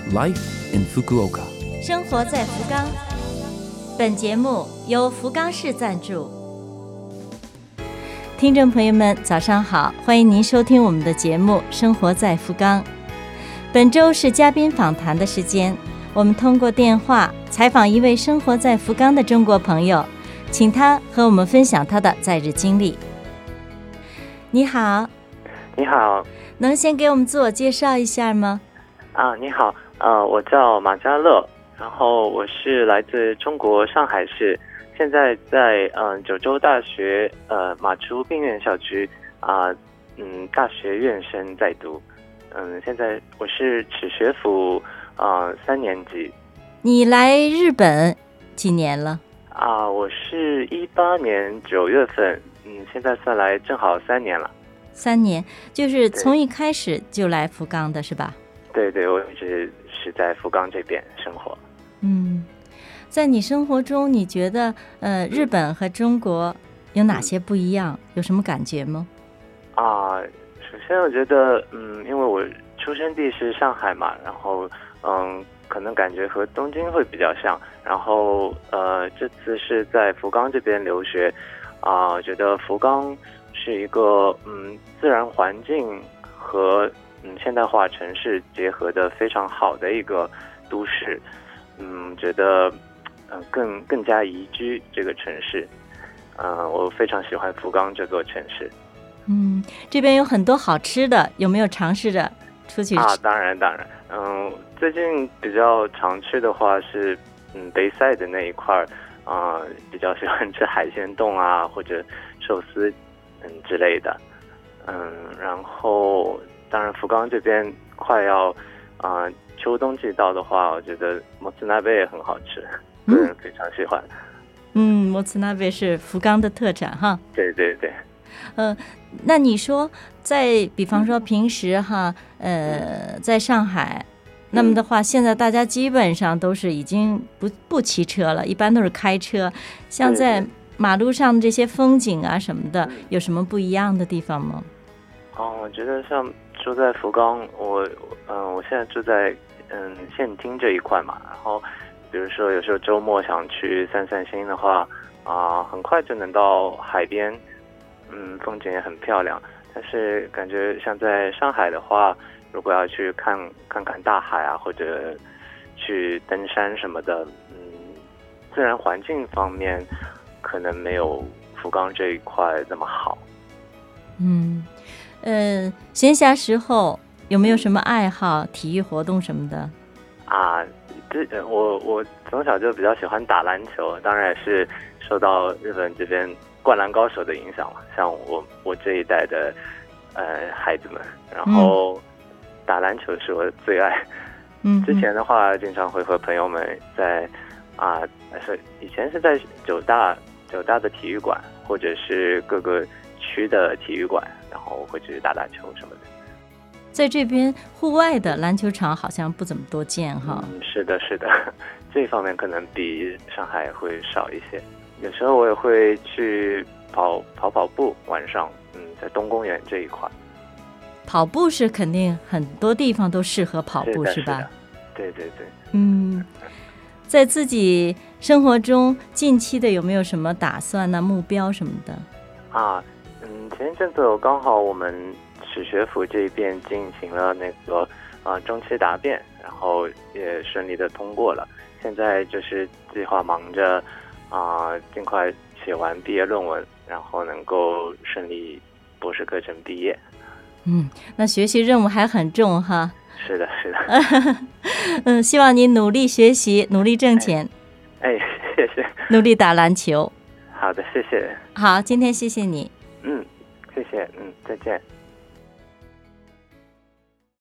Life in Fukuoka， 生活在福冈。本节目由福冈市赞助。听众朋友们，早上好，欢迎您收听我们的节目《生活在福冈》。本周是嘉宾访谈的时间，我们通过电话采访一位生活在福冈的中国朋友，请他和我们分享他的在日经历。你好。 你好。 能先给我们自我介绍一下吗？ 你好，我叫马家乐，然后我是来自中国上海市，现在在九州大学马竹病院校区大学院生在读，现在我是齿学府3年级。 你来日本几年了？ 我是18年9月份，现在算来正好3年了。 3年，就是从一开始就来福冈的是吧？ 对，我一直是在福冈这边生活。 在你生活中，你觉得日本和中国有哪些不一样？有什么感觉吗？ 首先我觉得因为我出生地是上海嘛，然后可能感觉和东京会比较像，然后这次是在福冈这边留学觉得福冈是一个自然环境和现代化城市结合的非常好的一个都市，觉得更加宜居这个城市，我非常喜欢福冈这座城市。 这边有很多好吃的，有没有尝试着出去吃？ 当然，最近比较常吃的话是北赛的那一块比较喜欢吃海鲜冻或者寿司之类的，然后当然福冈这边快要秋冬季到的话，我觉得もつ鍋也很好吃，个人非常喜欢。 もつ鍋是福冈的特产哈。 对。 那你说比方说平时在上海，那么的话现在大家基本上都是已经不骑车了，一般都是开车，像在马路上的这些风景什么的，有什么不一样的地方吗？ 我觉得像住在福冈，我现在住在县厅这一块嘛，然后比如说有时候周末想去散心的话很快就能到海边，风景也很漂亮。但是感觉像在上海的话，如果要去看看大海或者去登山什么的，自然环境方面可能没有福冈这一块那么好。 闲暇时候有没有什么爱好、体育活动什么的？ 我从小就比较喜欢打篮球，当然也是受到日本这边灌篮高手的影响了。像我这一代的孩子们，然后打篮球是我的最爱。之前的话经常会和朋友们在以前是在九大的体育馆或者是各个区的体育馆，然后会去打球什么的。 在这边户外的篮球场好像不怎么多见哈。 是的，这方面可能比上海会少一些。有时候我也会去跑步，晚上在东公园这一块。 跑步是肯定很多地方都适合跑步，是吧？ 对。 在自己生活中近期的有没有什么打算目标什么的？ 前一阵子刚好我们齿学府这边进行了那个中期答辩，然后也顺利的通过了。现在就是计划忙着尽快写完毕业论文，然后能够顺利博士课程毕业。 那学习任务还很重哈。 是的。 希望你努力学习，努力挣钱。 谢谢。 努力打篮球。 好的，谢谢。 好，今天谢谢你。 谢谢。再见。